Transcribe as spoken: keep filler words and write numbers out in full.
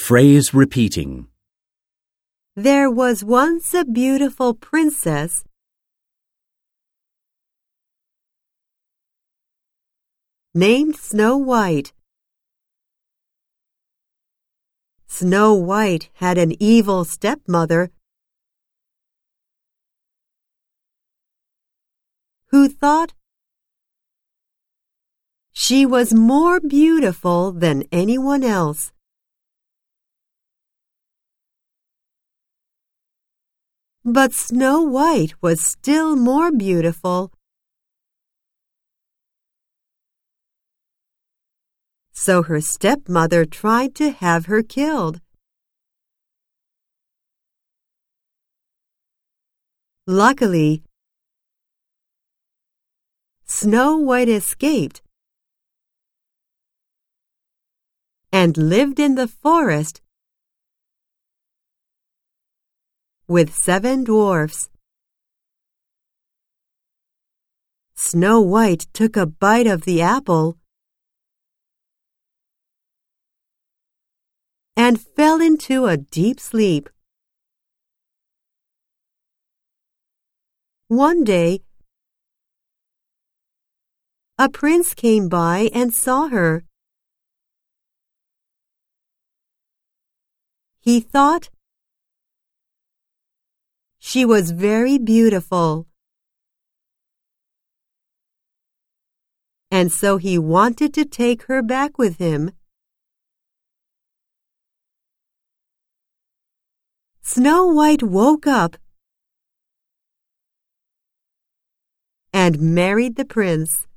Phrase repeating. There was once a beautiful princess named Snow White. Snow White had an evil stepmother who thought she was more beautiful than anyone else. But Snow White was still more beautiful. So her stepmother tried to have her killed. Luckily, Snow White escaped and lived in the forest with seven dwarfs. Snow White took a bite of the apple and fell into a deep sleep. One day, a prince came by and saw her. He thought she was very beautiful, and so he wanted to take her back with him. Snow White woke up and married the prince.